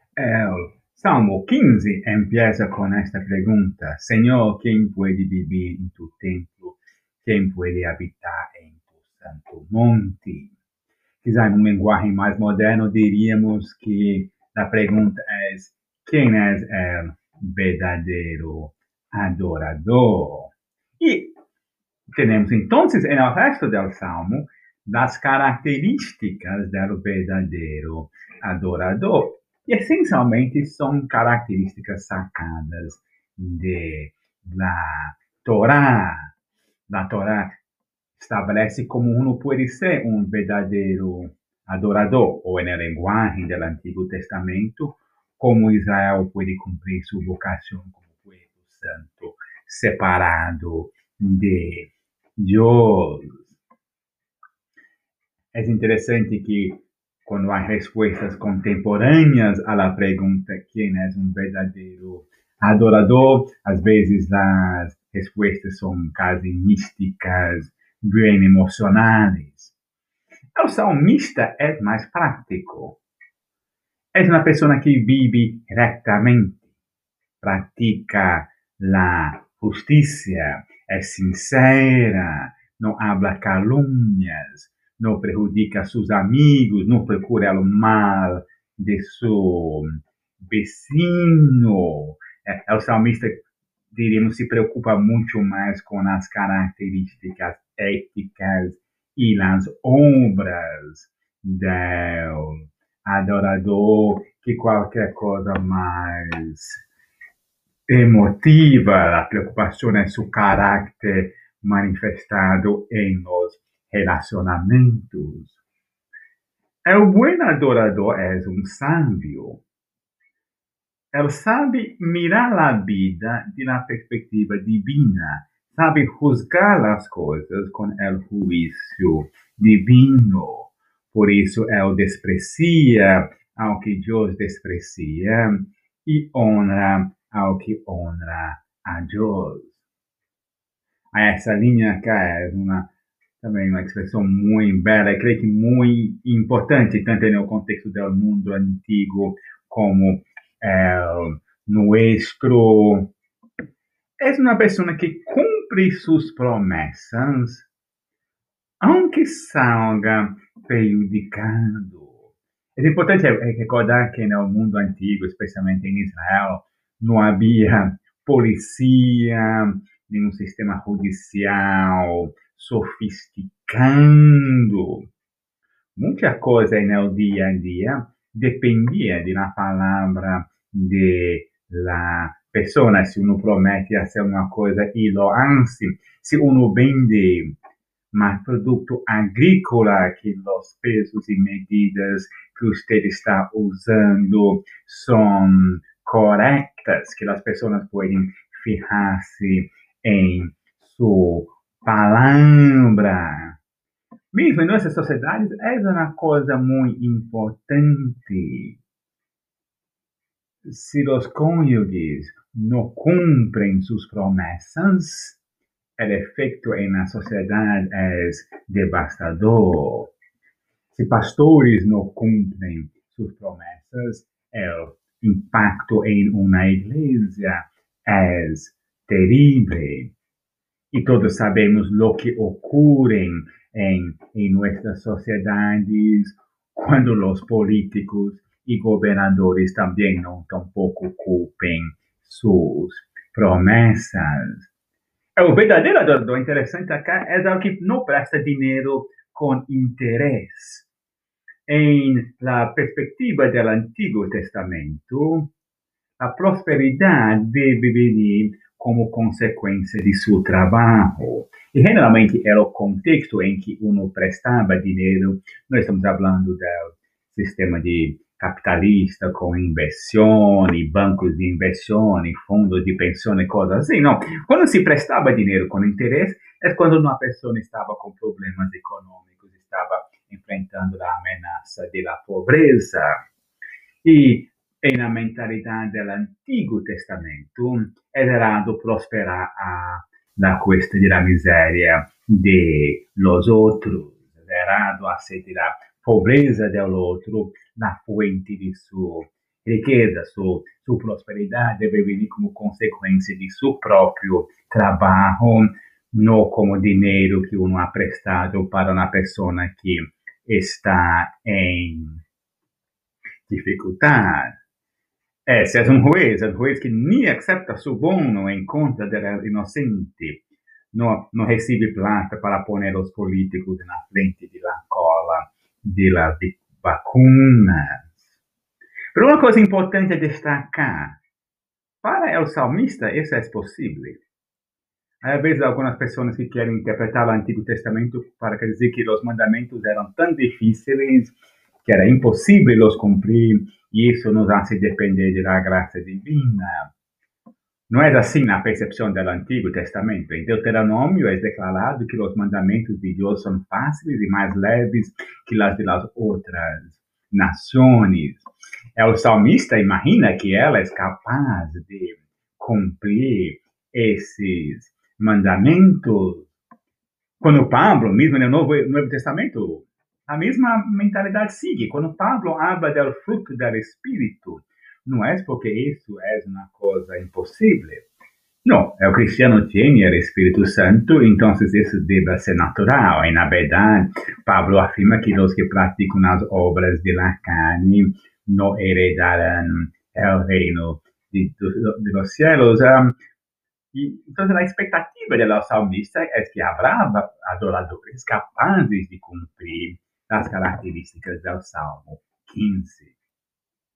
El Salmo 15 empieza con esta pregunta: Señor, ¿quién puede vivir en tu templo? ¿Quién puede habitar en tu santo monte? Quizá en un lenguaje más moderno diríamos que la pregunta es: ¿quién es el verdadero adorador? Y tenemos entonces en el resto del Salmo las características del verdadero adorador. Y esencialmente son características sacadas de la Torá. La Torá establece cómo uno puede ser un verdadero adorador, o en el lenguaje del Antiguo Testamento, cómo Israel puede cumplir su vocación como pueblo santo, separado de Dios. Es interesante que cuando hay respuestas contemporáneas a la pregunta ¿quién es un verdadero adorador? A veces las respuestas son casi místicas, bien emocionales. El salmista es más práctico. Es una persona que vive rectamente, practica la justicia, es sincera, no habla calumnias, no perjudica a sus amigos, no procura el mal de su vecino. El salmista, diríamos, se preocupa mucho más con las características éticas y las obras del adorador que qualquer cosa más emotiva. La preocupación es su carácter manifestado en los relacionamientos. El buen adorador es un sabio. Él sabe mirar la vida de la perspectiva divina, sabe juzgar las cosas con el juicio divino. Por eso él desprecia al que Dios desprecia y honra al que honra a Dios. Essa linha cá é também uma expressão muito bela, creio que muito importante, tanto no contexto do mundo antigo como nuestro. É uma pessoa que cumpre suas promessas, aunque salga prejudicado. É importante recordar que no mundo antigo, especialmente em Israel, não havia polícia, nenhum sistema judicial sofisticando. Muita coisa no dia a dia dependia da palavra de la persona. Se uno promete fazer uma coisa e lo hace, se uno vende mais produto agrícola, que os pesos e medidas que você está usando são corretas, que as pessoas podem fijar-se em sua palavra. Mesmo em nossas sociedades, é uma coisa muito importante. Se os cônjuges não cumprem suas promessas, el efecto en la sociedad es devastador. Si pastores no cumplen sus promesas, el impacto en una iglesia es terrible. Y todos sabemos lo que ocurre en nuestras sociedades cuando los políticos y gobernadores también no tampoco cumplen sus promesas. O verdadeiro adorador interessante acá é o que não presta dinheiro com interesse. Em la perspectiva do Antigo Testamento, a prosperidade deve venir como consequência de seu trabalho. E generalmente era o contexto em que uno prestava dinheiro. Nós estamos falando do sistema de capitalista com inversão, bancos de inversão, fundos de pensão e coisas assim. Não. Quando se prestava dinheiro com interesse, é quando uma pessoa estava com problemas econômicos, estava enfrentando a ameaça da pobreza. E na mentalidade do Antigo Testamento, era errado prosperar na cuesta da miséria de los outros. Era errado aceitar a pobreza do outro na fonte de sua riqueza, sua prosperidade deve vir como consequência de seu próprio trabalho, não como dinheiro que uno ha prestado para uma pessoa que está em dificuldade. Esse é um juiz que nem accepta suborno em conta do inocente. Não recebe plata para pôr os políticos na frente da cola das vacunas. Mas uma coisa importante destacar, para o salmista isso é possível. Às vezes algumas pessoas que querem interpretar o Antigo Testamento para dizer que os mandamentos eram tão difíceis que era impossível os cumprir e isso nos hace depender da graça divina. Não é assim na percepção do Antigo Testamento. Em Deuteronômio é declarado que os mandamentos de Deus são fáceis e mais leves que as das outras nações. O salmista imagina que ela é capaz de cumprir esses mandamentos. Quando Pablo, mesmo no Novo Testamento, a mesma mentalidade sigue. Quando Pablo habla do fruto do Espírito, não é porque isso é uma coisa impossível. Não, o cristiano tem o Espírito Santo, então isso deve ser natural. E, na verdade, Pablo afirma que os que praticam as obras de la carne não heredarão o reino de los cielos. Então, a expectativa do salmista é que habrá adoradores capazes de cumprir as características do Salmo 15.